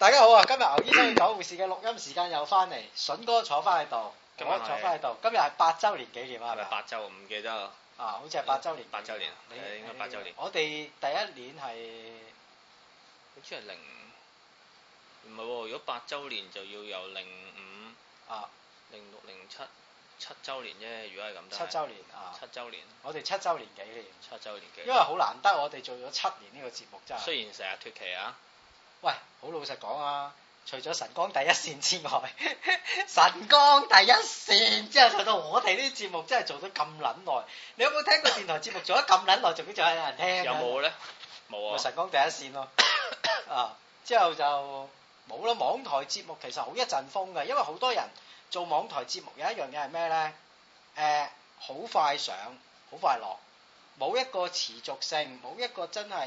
大家好啊！今日牛醫生與狗護士嘅錄音時間又翻嚟，筍哥坐翻喺度，我坐翻喺度。今日係8週年紀念啊！係咪 8週？唔記得啊！ 好似係8週年。 8週年，應該8週年。 我哋第一年係好似係唔係喎？如果8週年就要由05、06、07、7週年啫。如果係咁 7週年啊 ！7週年。 我哋7週年紀念。 7週年紀念。 因為好難得，我哋做咗7年呢個節目真係。 雖然成日脫期啊！ 喂，好老實講啊！除咗晨光第一線之外，晨光第一線之後做到我哋呢啲節目真係做咗咁撚耐。你有冇聽過電台節目做咗咁撚耐，仲要仲有人聽？ 有冇咧？冇啊！ 晨光第一線咯，之後就冇啦。網台節目其實好一陣風嘅，因為好多人做網台節目有一樣嘢係咩咧？好快上，好快落，冇一個持續性，冇一個真係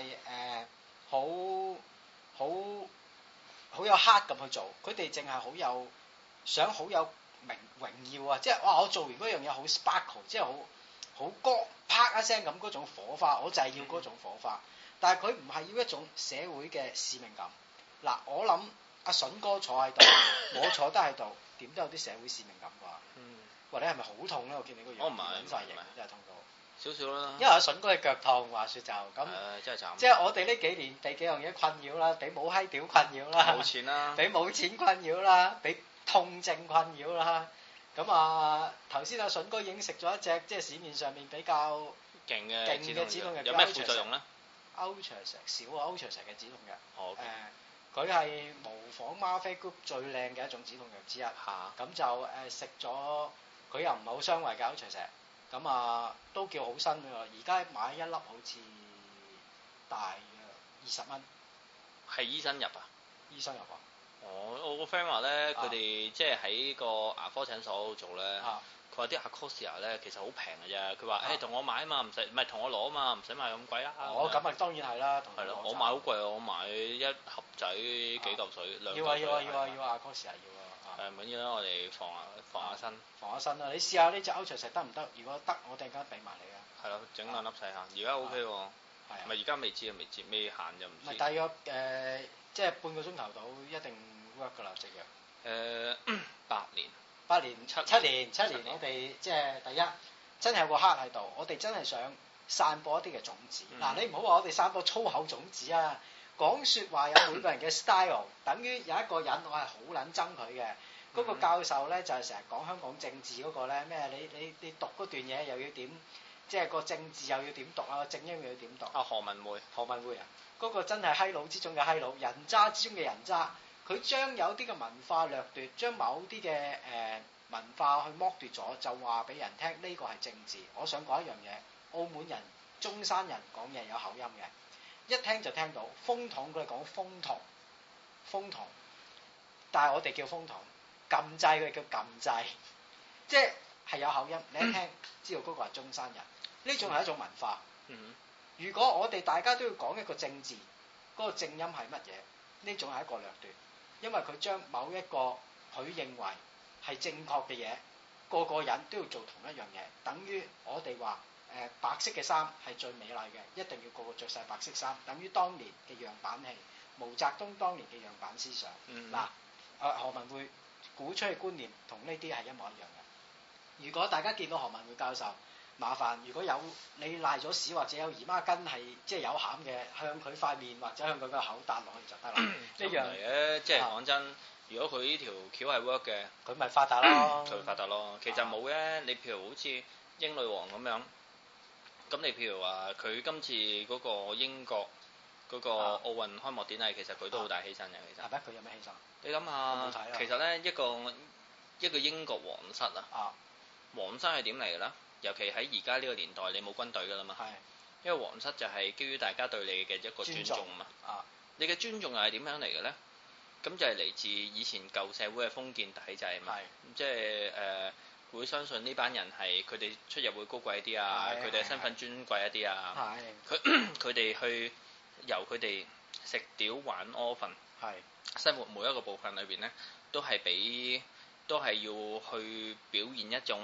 好有 heart 咁去做，佢哋淨係好有想好有榮耀啊！即係哇，我做完嗰樣嘢好 sparkle，即係好光啪一聲咁嗰種火花，我就係要嗰種火花。但係佢唔係要一種社會嘅使命感。嗱，我諗阿筍哥坐喺度，我坐得喺度，點都有啲社會使命感啩？或者係咪好痛咧？我見你個樣， 我唔係， 真係痛到少少啦。 因為阿筍哥嘅腳痛，話説就咁， 真係慘。即係我哋呢幾年被幾樣嘢困擾啦，俾冇閪屌困擾啦， 冇錢啦， 俾冇錢困擾啦，俾痛症困擾啦。咁啊，頭先阿筍哥已經食咗一隻即係市面上面比較勁嘅止痛藥， 有咩副作用咧？ 歐長石少啊，歐長石嘅止痛藥。 好。 佢係模仿嗎啡 group 最靚嘅一種止痛藥之一。咁就食咗，佢又唔係好傷胃嘅歐長石。咁啊，都叫好新㗎。而家買一粒好似大約20蚊。係醫生入啊？ 醫生入啊？ 我個 friend 話咧，佢哋即係喺個牙科診所度做咧。佢話啲 Acacia 咧其實好平嘅啫。佢話同我買啊嘛，唔係同我攞啊嘛，唔使買咁貴啦。 咁啊當然係啦。 係咯，我買好貴啊！我買一盒仔幾嚿水，2嚿水。 要啊 Acacia 要啊。 唔緊要啦，我哋防下身。 防下身啦！你試下呢隻歐長石得唔得？如果得，我突然間俾埋你啊。 係咯，整兩粒細下。而家 OK 喎。係咪而家未知啊？未限就唔知。 咪大約即係半個鐘頭到一定 work 㗎啦，隻藥。8年7年，我哋即係第一真係有個黑喺度，我哋真係想散播一啲嘅種子。嗱，你唔好話我哋散播粗口種子啊！講説話有每個人嘅 style，等於有一個人我係好撚憎佢嘅，嗰個教授咧就係成日講香港政治嗰個咧咩？你讀嗰段嘢又要點？即係個政治又要點讀啊？正音又要點讀？ 何文匯啊！嗰個真係閪佬之中嘅閪佬，人渣之中嘅人渣。佢將有啲嘅文化掠奪，將某啲嘅文化去剝奪咗，就話俾人聽呢個係政治。我想講一樣嘢，澳門人、中山人講嘢有口音嘅，一聽就聽到。風筒佢哋講風筒，但係我哋叫風筒。撳掣佢哋叫撳掣，即係有口音。你一聽知道嗰個係中山人，呢種係一種文化。如果我哋大家都要講一個政治，嗰個正音係乜嘢？呢種係一個掠奪。因為佢將某一個佢認為係正確嘅嘢，個個人都要做同一樣嘢，等於我哋話白色嘅衫係最美麗嘅，一定要個個着晒白色衫，等於當年嘅樣板戲，毛澤東當年嘅樣板思想。何文匯鼓吹嘅觀念同呢啲係一模一樣嘅。如果大家見到何文匯教授，麻煩如果有你賴咗屎或者有姨媽巾係即係有餡嘅，向佢塊面或者向佢個口搭落去就得啦。呢樣嚟嘅， 即係講真，如果佢呢條橋係 work 嘅， 佢咪發達咯。 佢發達咯。其實冇嘅，你譬如好似英女王咁樣，咁你譬如話佢今次嗰個英國嗰個奧運開幕典禮，其實佢都好大犧牲嘅。其實係咩？佢有咩犧牲？你諗下，其實咧一個英國皇室啊，皇室係點嚟嘅咧？尤其喺而家呢個年代，你冇軍隊㗎啦嘛，因為皇室就係基於大家對你嘅一個尊重嘛。你嘅尊重又係點樣嚟嘅咧？咁就係嚟自以前舊社會嘅封建體制嘛。即係會相信呢班人係佢哋出入會高貴啲啊，佢哋嘅身份尊貴一啲啊。佢哋去由佢哋食屌玩屙瞓，生活每一個部分裏邊咧，都係要去表現一種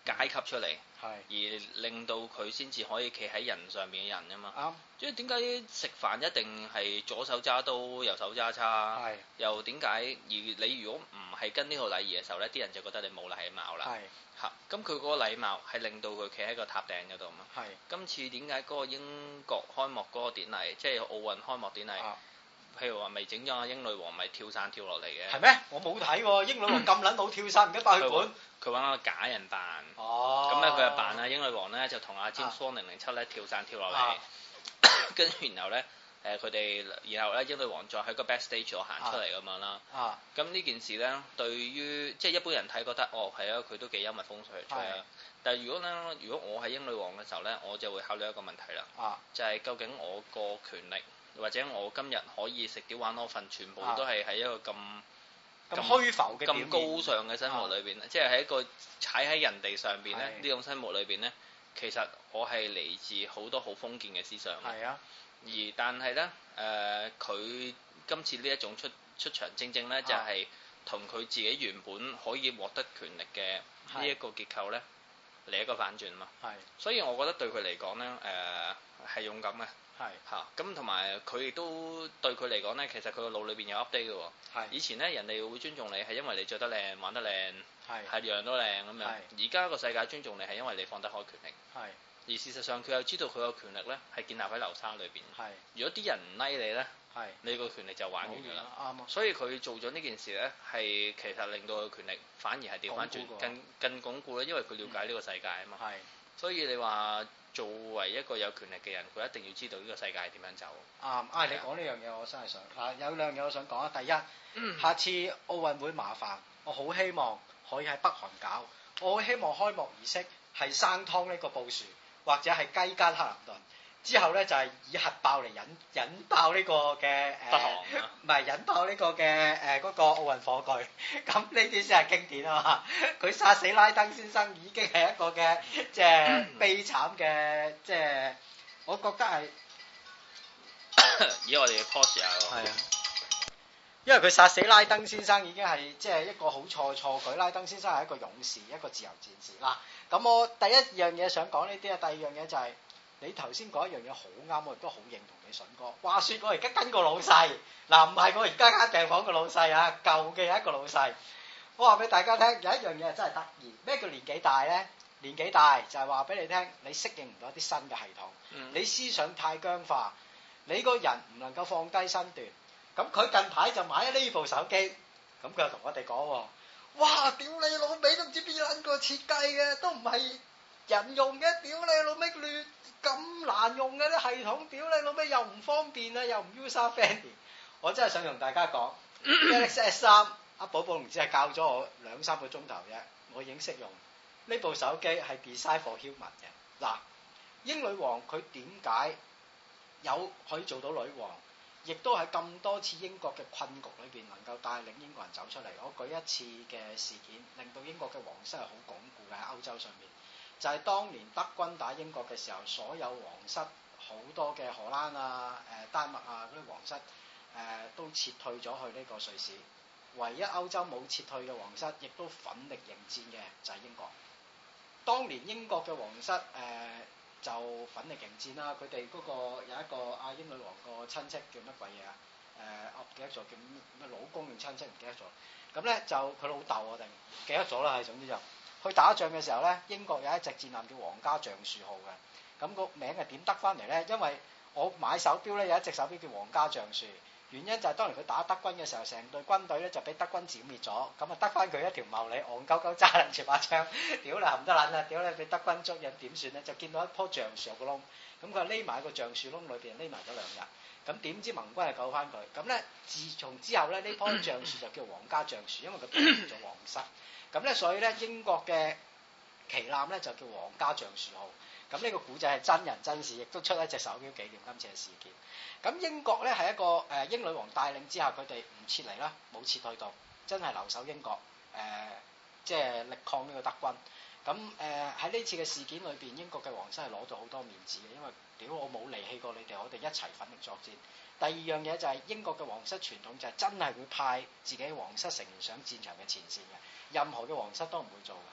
階級出嚟， 而令到佢先至可以企喺人上面嘅人啊嘛。 啱。 即係點解食飯一定係左手揸刀右手揸叉？又點解而你如果唔係跟呢套禮儀嘅時候呢，啲人就覺得你冇禮貌啦。嚇，咁佢嗰個禮貌係令到佢企喺個塔頂嗰度嘛。今次點解嗰個英國開幕嗰個典禮，即係奧運開幕典禮？譬如話咪整咗阿英女王咪跳傘跳落嚟嘅，係咩？我冇睇喎，英女王咁撚老跳傘，唔記得爆血管。 佢揾個假人扮，咁咧佢就扮阿英女王咧，就同阿 James Bond 007咧跳傘跳落嚟，跟住然後咧佢哋，然後咧英女王再喺個 backstage 度行出嚟咁樣啦。咁呢件事咧，對於即係一般人睇覺得係啊，佢都幾幽默風趣啊。但係如果我係英女王嘅時候咧，我就會考慮一個問題啦，就係究竟我個權力。或者我今日可以食屌玩攞份，全部都係喺一個咁虛浮嘅咁高尚嘅生活裏邊，即係喺一個踩喺人哋上邊咧呢種生活裏邊咧，其實我係嚟自好多好封建嘅思想。但係咧佢今次呢一種出場正正咧就係同佢自己原本可以獲得權力嘅呢一個結構咧嚟一個反轉嘛。所以我覺得對佢嚟講咧係勇敢嘅。咁同埋佢亦都對佢嚟講咧，其實佢個腦裏邊有 update 嘅喎。以前咧人哋會尊重你係因為你着得靚、玩得靚，係樣都靚咁樣。而家個世界尊重你係因為你放得開權力。而事實上佢又知道佢個權力咧係建立喺流沙裏邊。如果啲人唔拉你咧，你個權力就玩完㗎啦。所以佢做咗呢件事咧，係其實令到佢權力反而係調翻轉，更鞏固啦，因為佢了解呢個世界啊嘛。所以你話作為一個有權力嘅人，佢一定要知道呢個世界係點樣走。 你講呢樣嘢我真係想有兩樣嘢我想講啊。第一，下次奧運會麻煩，我好希望可以喺北韓搞。我好希望開幕儀式係生湯呢個布殊，或者係雞姦克林頓。之後咧就係以核爆嚟引爆呢個嘅北韓唔係引爆呢個嘅嗰個奧運火炬，咁呢啲先係經典啊嘛！佢殺死拉登先生已經係一個嘅即係悲慘嘅，即係我覺得係而家我哋要 pause 下喎。 係啊，因為佢殺死拉登先生已經係即係一個好錯舉。拉登先生係一個勇士，一個自由戰士嗱。咁我第一樣嘢想講呢啲啊，第二樣嘢就係。你頭先講一樣嘢好啱，我亦都好認同你筍哥。話說我而家跟個老細，唔係我而家間病房個老細啊，舊嘅一個老細。我話俾大家聽，有一樣嘢真係得意。咩叫年紀大咧？年紀大就係話俾你聽，你適應唔到一啲新嘅系統，你思想太僵化，你個人唔能夠放低身段。咁佢近排就買咗呢部手機，咁佢又同我哋講：哇！屌你老味都唔知邊撚個設計嘅，都唔係人用嘅，屌你老味亂！咁難用嘅啲系統，屌你老味又唔方便啊，又唔 user friendly。我真係想同大家講，Galaxy S3，阿寶寶唔知係教咗我2-3個鐘頭啫，我已經識用呢部手機係 design for human 嘅。嗱，英女王佢點解可以做到女王，亦都喺咁多次英國嘅困局裏邊能夠帶領英國人走出嚟。我舉一次嘅事件，令到英國嘅皇室係好鞏固嘅喺歐洲上面。就係當年德軍打英國嘅時候，所有皇室好多嘅荷蘭啊、丹麥啊嗰啲皇室都撤退咗去呢個瑞士，唯一歐洲冇撤退嘅皇室，亦都奮力迎戰嘅就係英國。當年英國嘅皇室就奮力迎戰啦，佢哋嗰個有一個阿英女王個親戚叫乜鬼嘢啊？我唔記得咗叫咩老公定親戚唔記得咗。咁咧就佢老豆我定唔記得咗啦，係總之就。去打仗嘅時候咧，英國有一隻戰艦叫皇家橡樹號嘅，咁個名係點得翻嚟咧？因為我買手錶咧有一隻手錶叫皇家橡樹，原因就係當年佢打德軍嘅時候，成隊軍隊咧就俾德軍剿滅咗，咁啊得翻佢一條茂利，戇鳩鳩揸撚住把槍，屌你冚得撚啊！屌你俾德軍捉人點算咧？就見到一棵橡樹有個窿，咁佢匿埋喺個橡樹窿裏邊匿埋咗2日，咁點知盟軍係救翻佢，咁咧自從之後咧呢棵橡樹就叫皇家橡樹，因為佢保護咗皇室。咁咧，所以咧英國嘅旗艦咧就叫皇家橡樹號。咁呢個古仔係真人真事，亦都出一隻手錶紀念今次嘅事件。咁英國咧係一個英女王帶領之下，佢哋唔撤離啦，冇撤退到，真係留守英國，即係力抗呢個德軍。咁喺呢次嘅事件裏邊，英國嘅皇室係攞到好多面子嘅，因為屌我冇離棄過你哋，我哋一齊奮力作戰。第二樣嘢就係英國嘅皇室傳統就係真係會派自己皇室成員上戰場嘅前線嘅，任何嘅皇室都唔會做嘅。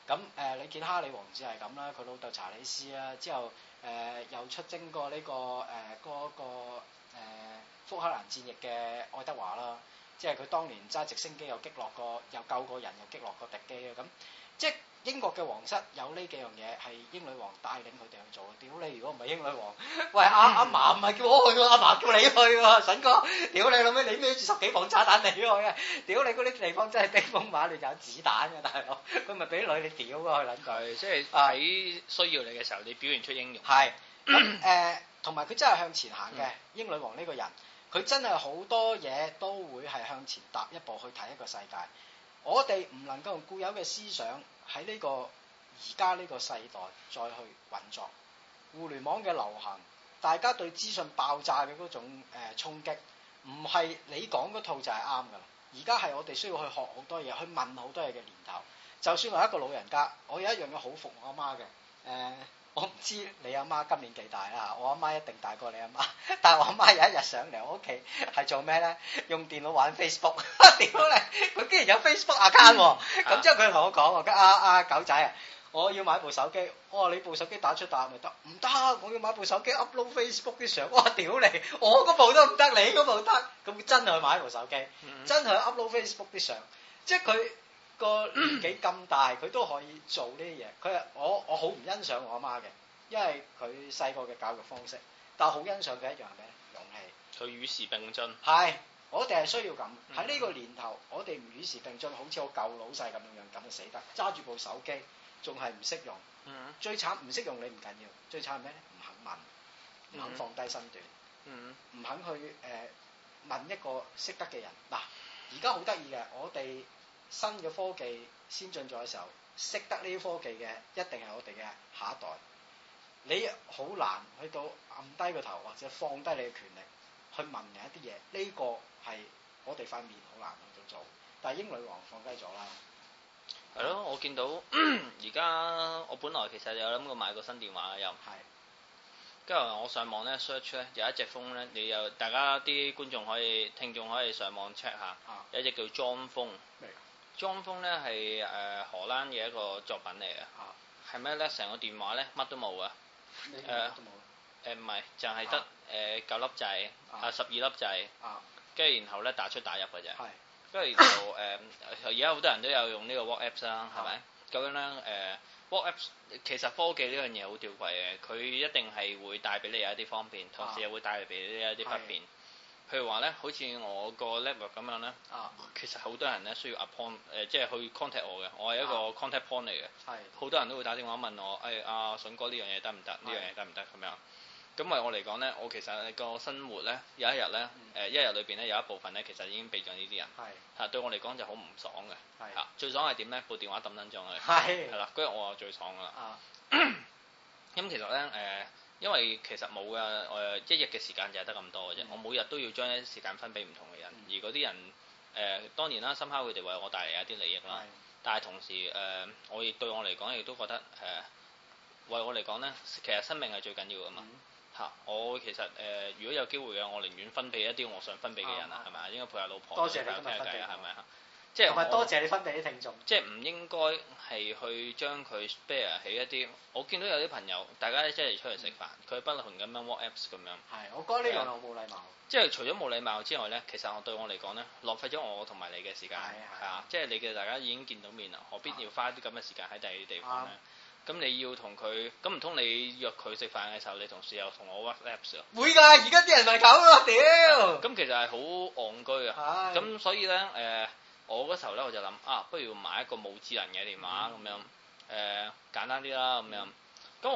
咁你見哈里王子係咁啦，佢老豆查理斯啦，之後又出征過呢個嗰個福克蘭戰役嘅愛德華啦，即係佢當年揸直升機又擊落過，又救過人，又擊落過敵機啊咁，即係英國嘅皇室有呢幾樣嘢係英女王帶領佢哋去做嘅。屌你，如果唔係英女王，喂阿嫲唔係叫我去喎，阿嫲叫你去喎，筍哥，屌你老味，你孭住10幾磅炸彈你去啊！屌你嗰啲地方真係兵荒馬亂，有子彈嘅大佬，佢咪俾女你屌啊！佢撚佢， 即係喺需要你嘅時候，你表現出英勇。 係咁同埋佢真係向前行嘅。英女王呢個人，佢真係好多嘢都會係向前踏一步去睇一個世界。我哋唔能夠用固有嘅思想喺呢個而家呢個世代再去運作。互聯網嘅流行，大家對資訊爆炸嘅嗰種衝擊，唔係你講嗰套就係啱㗎啦。而家係我哋需要去學好多嘢，去問好多嘢嘅年頭。就算我一個老人家，我有一樣嘢好服我阿媽嘅。我唔知你阿媽今年幾大啦，我阿媽一定大過你阿媽，但係我阿媽有一日上嚟我屋企係做咩咧？用電腦玩 Facebook， 屌你！佢竟然有 Facebook account 喎，咁之後佢同我講喎，狗仔啊，我要買部手機，我話你部手機打出打咪得？唔得，我要買部手機 upload Facebook 啲相，我話屌你，我嗰部都唔得，你嗰部得，咁真係去買部手機，真係 upload Facebook 啲相，即係佢。個年紀咁大，佢都可以做呢啲嘢。佢係我好唔欣賞我阿媽嘅，因為佢細個嘅教育方式，但係好欣賞佢一樣咩？勇氣。佢與時並進。 係，我哋係需要咁喺呢個年頭，我哋唔與時並進，好似我舊老細咁樣咁就死得，揸住部手機仲係唔識用。最慘唔識用你唔緊要，最慘係咩咧？唔肯問，唔肯放低身段，唔肯去問一個識得嘅人。嗱，而家好得意嘅，我哋。新嘅科技先進咗嘅時候，識得呢啲科技嘅一定係我哋嘅下一代。你好難去到揞低個頭或者放低你嘅權力去問人一啲嘢，呢個係我哋塊面好難去到做。但係英女王放低咗啦。 係咯，我見到而家我本來其實有諗過買個新電話嘅又。係。跟住我上網咧 search 咧有一隻風咧，你有大家啲觀眾聽眾可以上網 check 下，有一隻叫裝風。裝風咧係荷蘭嘅一個作品嚟嘅，係咩咧？成個電話咧乜都冇嘅，唔係就係得9粒掣，12粒掣，跟住然後咧打出打入嘅啫，跟住就而家好多人都有用呢個 WhatsApp 啦，係咪？咁樣咧WhatsApp 其實科技呢樣嘢好吊詭嘅，佢一定係會帶俾你有一啲方便，同時又會帶嚟俾你一啲不便。譬如話咧，好似我個 network 咁樣咧，其實好多人咧需要 appoint 即係去 contact 我嘅，我係一個 contact point 嚟嘅，好多人都會打電話問我，阿筍哥呢樣嘢得唔得？呢樣嘢得唔得咁樣？咁為我嚟講咧，我其實個生活咧有一日咧，一日裏邊咧有一部分咧其實已經俾咗呢啲人，嚇對我嚟講就好唔爽嘅，嚇最爽係點咧？部電話抌撚咗佢，係啦，嗰日我就最爽噶啦。咁其實咧因為其實冇嘅，一日嘅時間就係得咁多嘅啫。我每日都要將一啲時間分俾唔同嘅人，而嗰啲人當然啦，深刻佢哋為我帶嚟一啲利益啦。但係同時我亦對我嚟講亦都覺得為我嚟講咧，其實生命係最緊要噶嘛嚇。我其實如果有機會嘅，我寧願分俾一啲我想分俾嘅人啊，係咪啊？應該陪下老婆，多謝你今日分俾，係咪啊？即係同埋多謝你分俾啲聽眾，即係唔應該係去將佢 spare 起一啲。我見到有啲朋友，大家一齊出嚟食飯，佢不同咁樣 WhatsApp 咁樣。係，我覺得呢樣好冇禮貌。即係除咗冇禮貌之外咧，其實對我嚟講咧，浪費咗我同埋你嘅時間。係啊，即係你嘅大家已經見到面啦，何必要花啲咁嘅時間喺第二啲地方咧？咁你要同佢，咁唔通你約佢食飯嘅時候，你同時又同我 WhatsApp 會㗎，而家啲人咪咁咯，屌！咁其實係好戇居啊。咁所以咧我嗰時候咧我就諗不如買一個冇智能嘅電話咁樣，簡單啲啦咁樣。咁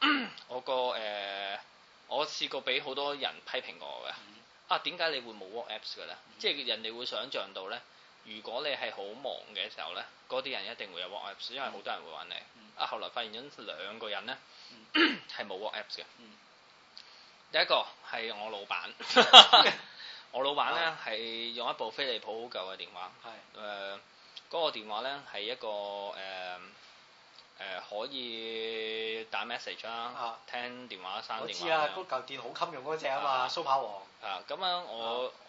我試過俾好多人批評過我嘅，點解你會冇 WhatsApp 嘅咧？即係人哋會想像到咧，如果你係好忙嘅時候咧，嗰啲人一定會有 WhatsApp，因為好多人會揾你。後來發現咗兩個人咧係冇 WhatsApp 嘅。第一個係我老闆。我老闆咧係用一部飛利浦好舊嘅電話，嗰個電話咧係一個可以打 message 啦，聽電話刪電話。我知啊，嗰嚿電好襟用嗰隻啊嘛，蘇跑王。咁樣我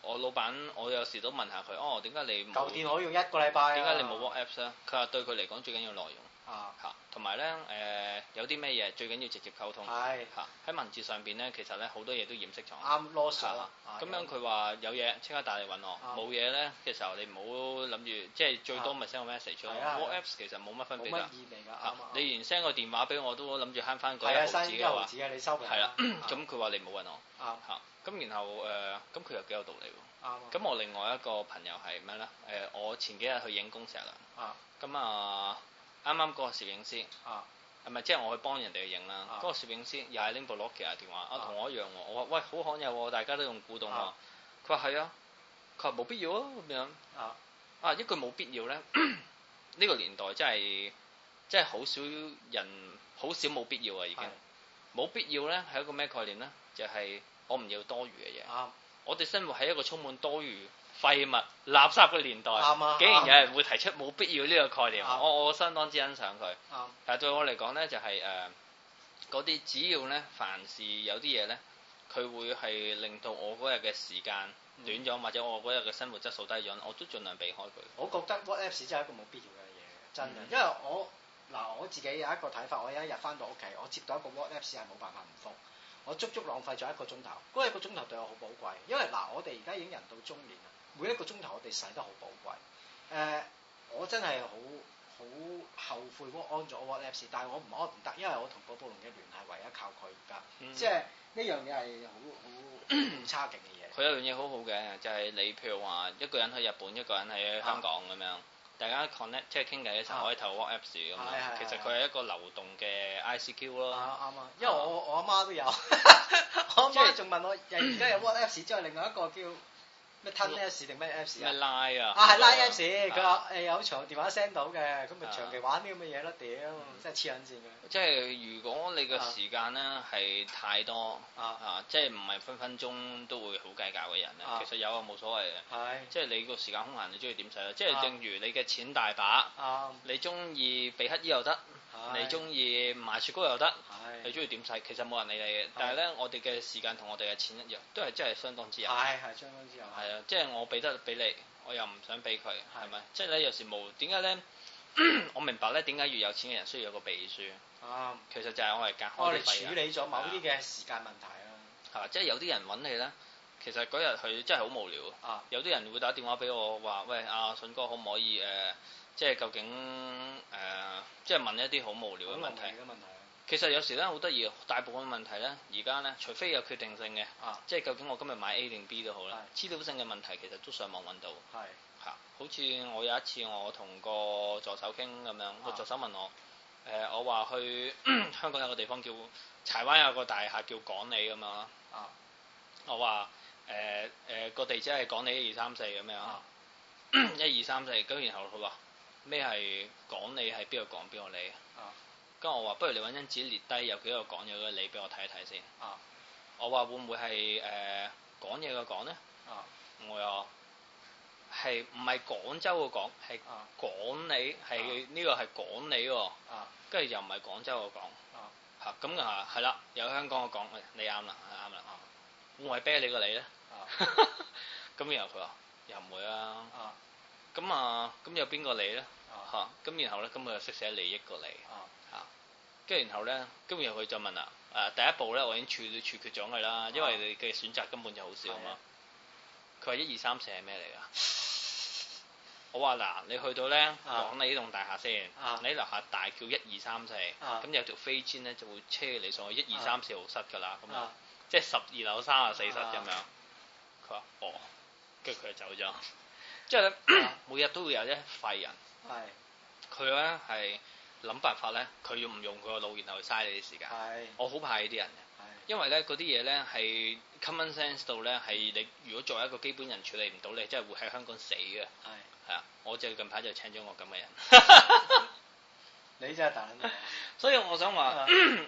我老闆，我有時都問下佢，哦，點解你冇舊電腦用一個禮拜？ 點解你冇 WhatsApp 咧？佢話對佢嚟講最緊要內容。嚇，同埋咧有啲咩嘢最緊要直接溝通。係嚇，喺文字上邊咧，其實咧好多嘢都掩飾咗。啱囉嗦啦。咁樣佢話有嘢即刻打嚟揾我，冇嘢咧嘅時候你唔好諗住，即係最多咪 send 個 message 咯。WhatsApp 其實冇乜分別㗎。冇乜意味㗎。嚇，你連 send 個電話俾我都諗住慳翻嗰一毫子嘅話。係啊，你收皮。係啦，咁佢話你冇揾我。嚇，咁然後咁佢又幾有道理喎。咁我另外一個朋友係咩咧？我前幾日去影工石啦。咁啱啱嗰個攝影師，係咪即係我去幫人哋去影啦？嗰個攝影師又係拎部 Nokia 電話，同我一樣喎。我話喂，好罕有喎，大家都用古董喎。佢話係啊，佢話冇必要啊咁樣。一句冇必要咧，呢個年代真係好少人，好少冇必要啊已經。冇必要咧係一個咩概念咧？就係我唔要多餘嘅嘢。我哋生活喺一個充滿多餘廢物、垃圾嘅年代，竟然有人會提出冇必要呢個概念，我相當之欣賞佢。但係對我嚟講咧，就係嗰啲只要咧，凡事有啲嘢咧，佢會係令到我嗰日嘅時間短咗，或者我嗰日嘅生活質素低咗，我都盡量避開佢。我覺得 WhatsApp 真係一個冇必要嘅嘢，真嘅。因為我自己有一個睇法，我有一日翻到屋企，我接到一個 WhatsApp 係冇辦法唔覆。我足足浪費咗1個鐘頭，嗰1個鐘頭對我好寶貴，因為我哋而家已經人到中年啦，每1個鐘頭我哋使得好寶貴。我真係好後悔安咗 WhatsApp， 但係我唔安唔得，因為我同寶寶龍嘅聯繫唯一靠佢而家，即係呢樣嘢係好差勁嘅嘢。佢有樣嘢好好嘅，就係你譬如話一個人喺日本，一個人喺香港咁樣。大家 connect 即係傾偈嘅時候可以透過 WhatsApp 咁樣，其實佢係一個流動嘅 ICQ 咯。啱啊，因為我阿媽都有，我阿媽仲問我，而家有 WhatsApp 之後，另外一個叫咩 Apps 定咩 Apps 啊？咩 Line 啊？係 Line Apps，佢話有長電話 send 到嘅，咁咪長期玩啲咁嘅嘢咯，屌，真係黐撚線嘅。即係如果你嘅時間咧係太多即係唔係分分鐘都會好計較嘅人咧，其實有啊冇所謂嘅。係，即係你個時間空閒，你中意點使咧？即係正如你嘅錢大把，你中意俾乞兒又得，你中意買雪糕又得，你中意點使，其實冇人理你嘅。但係咧，我哋嘅時間同我哋嘅錢一樣，都係真係相當之有。係相當之有。係啊，即係我俾得俾你，我又唔想俾佢，係咪？即係咧有時冇點解咧？我明白咧點解越有錢嘅人需要有個秘書。其實就係我哋隔開啲費。我哋處理咗某啲嘅時間問題啦。係即係有啲人揾你咧，其實嗰日佢真係好無聊。有啲人會打電話俾我話：喂，阿筍哥可唔可以即係究竟即係問一啲好無聊嘅問題。其實有時咧好得意，大部分問題咧而家咧，除非有決定性嘅，即係究竟我今日買 A 定 B 都好啦。資料性嘅問題其實都上網揾到。係嚇，好似我有一次我同個助手傾咁樣，個助手問我。我話去香港有個地方叫柴灣有個大廈叫港里咁樣啦。我話個地址係港里1234咁樣。1234，咁然後佢話咩係港里係邊個港邊個里？跟住我話不如你揾張紙列低有幾個港有個里俾我睇一睇先。我話會唔會係講嘢嘅講呢？我又係唔係廣州嘅港係港里，係呢個係港里喎。跟住又唔係廣州嘅港。嚇咁係啦，有香港嘅港，你啱啦，啱啦。會唔會啤你個你呢？咁然後佢話又唔會啊。咁有邊個你呢？咁然後咧，咁佢就識寫利益個利。跟住然後咧，咁然後佢就問啦，第一步咧，我已經處決咗佢啦，因為你嘅選擇根本就好少啊嘛。佢話1234係咩嚟㗎？我話嗱，你去到咧講你呢棟大廈先，你樓下大叫1234，咁有條飛氈咧就會車你上去1234號室㗎啦，咁樣即係12樓34室咁樣。佢話哦，跟住佢就走咗。即係咧，每日都會有一廢人，佢咧係諗辦法咧，佢要唔用佢個腦，然後去嘥你啲時間。我好怕呢啲人嘅，因為咧嗰啲嘢咧係 common sense 到咧係你如果作為一個基本人處理唔到，你真係會喺香港死嘅。係啊，我就近排就請咗我咁嘅人。你真係大撚！所以我想話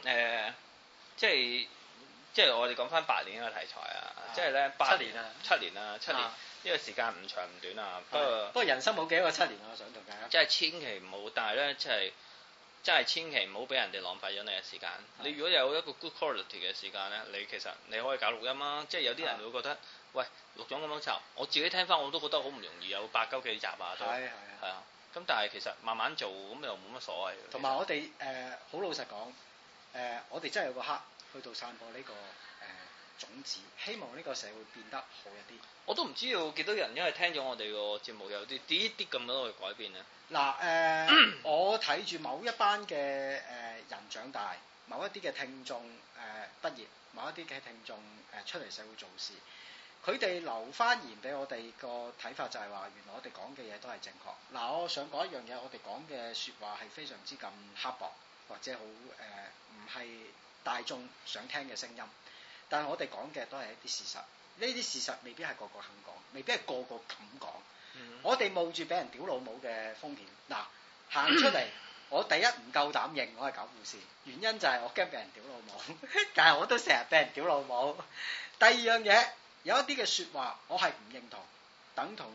即係我哋講翻8年嘅題材啊，即係咧7年啊，7年。呢個時間唔長唔短啊，不過人生冇幾多個7年啊，我想同大家。即係千祈唔好，但係咧，真係千祈唔好俾人哋浪費咗你嘅時間。你如果有一個 good quality 嘅時間咧，你其實你可以搞錄音啊。即係有啲人會覺得喂，錄咗咁多集，我自己聽翻我都覺得好唔容易，有8-9幾集啊，都係啊。咁但係其實慢慢做咁又冇乜所謂。 同埋我哋好老實講，我哋真係有個刻去到散播呢個種子，希望呢個社會變得好一啲。 我都唔知道幾多人因為聽咗我哋個節目有啲咁多嘅改變啊。 嗱我睇住某一班嘅人長大，某一啲嘅聽眾畢業，某一啲嘅聽眾出嚟社會做事，佢哋留翻言俾我哋個睇法就係話，原來我哋講嘅嘢都係正確。嗱，我想講一樣嘢，我哋講嘅説話係非常之咁刻薄，或者好唔係大眾想聽嘅聲音。但係我哋講嘅都係一啲事實，呢啲事實未必係個個肯講，未必係個個敢講。我哋冒住俾人屌老母嘅風險，嗱行出嚟，我第一唔夠膽認我係狗護士，原因就係我驚俾人屌老母，但係我都成日俾人屌老母。第二樣嘢，有一啲嘅説話我係唔認同，等同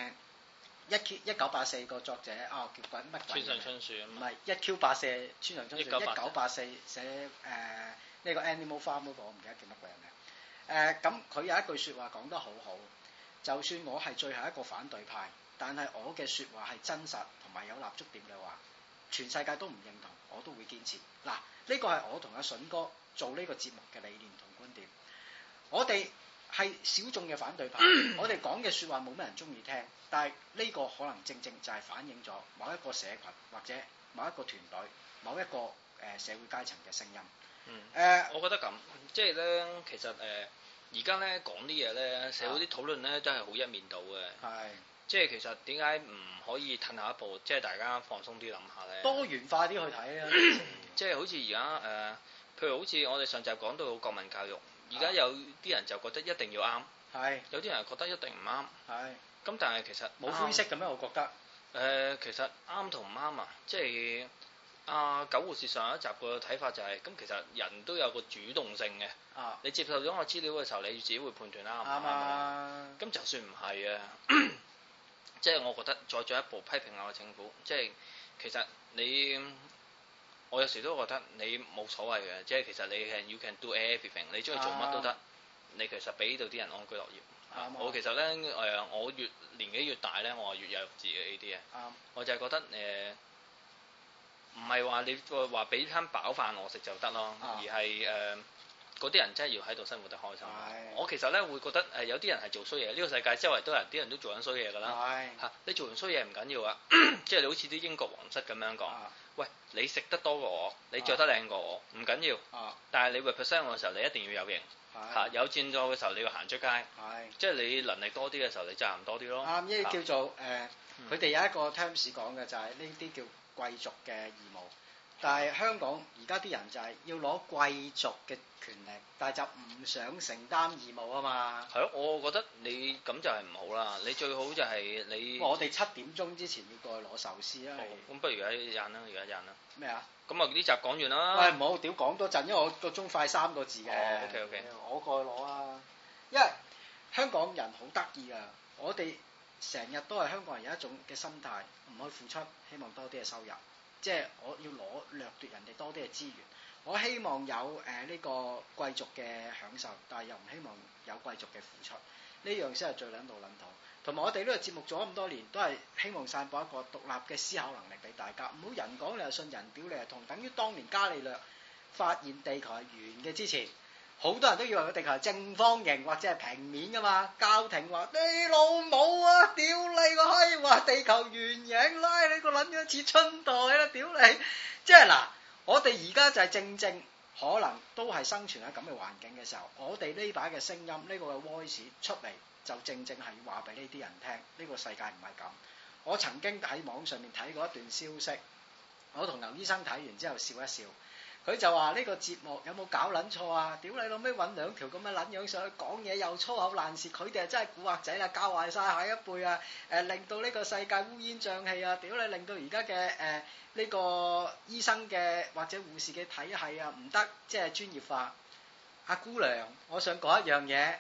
1984個作者叫鬼乜鬼？村上春樹唔係1Q84村上春樹1984寫呢個 Animal Farm 嗰個，我唔記得叫乜鬼人名。咁佢有一句説話講得好好，就算我係最後一個反對派，但係我嘅説話係真實同埋有立足點嘅話，全世界都唔認同，我都會堅持。嗱，呢個係我同阿筍哥做呢個節目嘅理念同觀點。我哋係小眾嘅反對派，我哋講嘅説話冇乜人中意聽，但係呢個可能正正就係反映咗某一個社群或者某一個團隊、某一個社會階層嘅聲音。 我覺得咁，即係咧，其實而家咧講啲嘢咧，社會啲討論咧都係好一面倒嘅。係，即係其實點解唔可以褪下一步，即係大家放鬆啲諗下咧？多元化啲去睇啊！即係好似而家譬如好似我哋上集講到國民教育，而家有啲人就覺得一定要啱，係，有啲人覺得一定唔啱，係。咁但係其實冇灰色嘅咩？我覺得其實啱同唔啱啊，即係。狗護士上一集個睇法就係，咁其實人都有個主動性嘅，你接受咗我資料嘅時候，你自己會判斷啱唔啱。咁就算唔係啊，即係我覺得再進一步批評下個政府，即係其實我有時都覺得你冇所謂嘅，即係其實你係 you can do everything， 你中意做乜都得，你其實俾到啲人安居樂業。我其實咧我越年紀越大咧，我係越有自嘅呢啲嘢。我就係覺得唔係話你話俾餐飽飯我食就得咯，而係嗰啲人真係要喺度生活得開心。我其實咧會覺得有啲人係做衰嘢，呢個世界周圍都有人，啲人都做緊衰嘢㗎啦。你做完衰嘢唔緊要啊，即係你好似啲英國皇室咁樣講，喂，你食得多過我，你着得靚過我，唔緊要。但係你 represent 我嘅時候，你一定要有型。有戰鬥嘅時候你要行出街。即係你能力多啲嘅時候，你責任多啲咯。啱，呢啲叫做佢哋有一個 terms 講嘅就係呢啲叫貴族嘅義務，但係香港而家啲人就係要攞貴族嘅權力，但係就唔想承擔義務啊嘛。係咯，我覺得你咁就係唔好啦，你最好就係你。我哋7點鐘之前要過去攞壽司啦。咁不如而家印啦，而家印啦。咩啊？咁啊呢集講完啦。喂，唔好，屌講多陣，因為我個鐘快3個字嘅。OK。我過去攞啊，因為香港人好得意啊，我哋。成日都係香港人有一種嘅心態，唔去付出，希望多啲嘅收入，即係我要掠奪人哋多啲嘅資源。我希望有呢個貴族嘅享受，但係又唔希望有貴族嘅付出，呢樣先係最撚到撚頭。同埋我哋呢個節目做咗咁多年，都係希望散播一個獨立嘅思考能力俾大家，唔好人講你係信，人屌你係痛，等於當年伽利略發現地球係圓嘅之前。好多人都以為個地球係正方形或者係平面噶嘛，教廷話你老母啊，屌你個閪，話地球圓形，拉你個撚樣似春袋啦，屌你！即係嗱，我哋而家就係正可能都係生存喺咁嘅環境嘅時候，我哋呢把嘅聲音，呢個嘅 voice 出嚟，就正係要話俾呢啲人聽，呢個世界唔係咁。我曾經喺網上面睇過一段消息，我同牛醫生睇完之後笑一笑。佢就話呢個節目有冇搞撚錯啊？屌你老味揾2條咁嘅撚樣上去講嘢又粗口爛舌，佢哋係真係古惑仔啦，教壞晒下一輩啊！令到呢個世界烏煙瘴氣啊！屌你，令到而家嘅呢個醫生嘅或者護士嘅體系啊唔得，即係專業化。阿姑娘，我想講一樣嘢，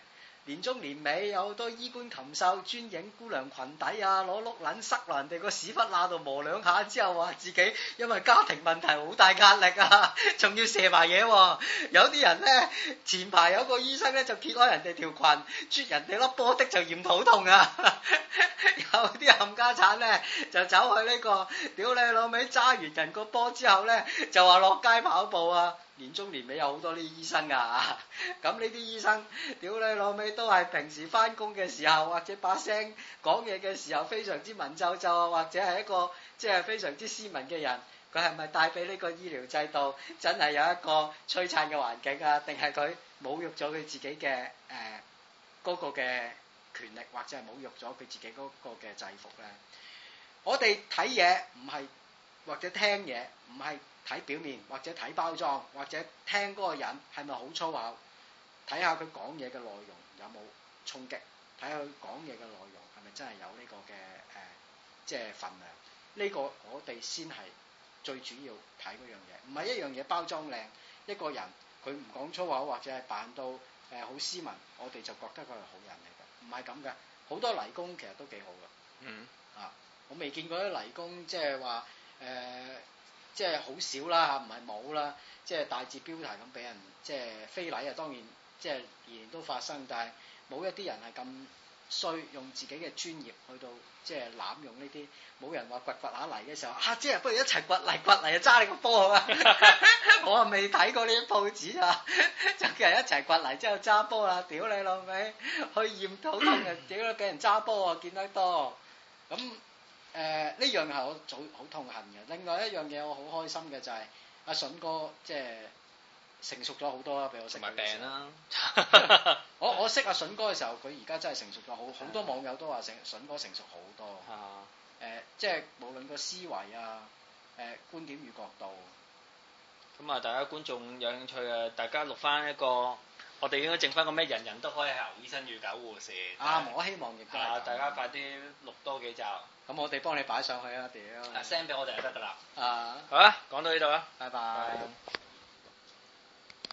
年中年尾有好多衣冠禽獸專影姑娘裙底啊，攞碌撚塞落人哋個屎忽罅度磨兩下之後話自己因為家庭問題好大壓力啊，仲要射埋嘢喎。有啲人咧前排有個醫生咧就揭開人哋條裙，啜人哋粒波的就驗肚痛啊。有啲冚家產咧就走去呢個屌你老味揸完人個波之後咧就話落街跑步啊。年中年尾有好多啲醫生啊，咁呢啲醫生屌你老味都係平時翻工嘅時候或者把聲講嘢嘅時候非常之文縐縐啊，或者係一個即係非常之斯文嘅人，佢係咪帶俾呢個醫療制度真係有一個璀璨嘅環境啊？定係佢侮辱咗佢自己嘅嗰個嘅權力，或者係侮辱咗佢自己嗰個嘅制服咧？我哋睇嘢唔係或者聽嘢唔係睇表面或者睇包裝或者聽嗰個人係咪好粗口，睇下佢講嘢嘅內容有冇衝擊，睇下佢講嘢嘅內容係咪真係有呢個嘅即係份量，呢個我哋先係最主要睇嗰樣嘢，唔係一樣嘢包裝靚，一個人佢唔講粗口或者係扮到好斯文，我哋就覺得佢係好人嚟嘅，唔係咁嘅，好多泥工其實都幾好嘅，我未見過啲泥工即係話即係好少啦，唔係冇啦，即係大字標題咁俾人即係非禮啊！當然即係年年都發生，但係冇一啲人係咁衰，用自己嘅專業去到即係濫用呢啲，冇人話掘下泥嘅時候啊，即係不如一齊掘泥啊，揸你個波啊！我啊未睇過呢啲報紙啊，就叫人一齊掘泥之後揸波啦，屌你老味，去驗肚痛啊！屌你俾人揸波啊，見得多咁。呢樣係我好痛恨嘅。另外一樣嘢我好開心嘅就係阿筍哥即係成熟咗好多啦，俾我識。同埋病啦。我識阿筍哥嘅時候，佢而家真係成熟咗，好多網友都話筍哥成熟好多。即係無論個思維啊，觀點與角度。咁啊，大家觀眾有興趣啊，大家錄翻一個。我哋應該整翻個咩？人人都可以係牛醫生與狗護士。我希望亦都係。大家快啲錄多幾集。咁我哋幫你擺上去啊！屌。send 俾我哋就得㗎啦。好啦，講到呢度啦。拜拜。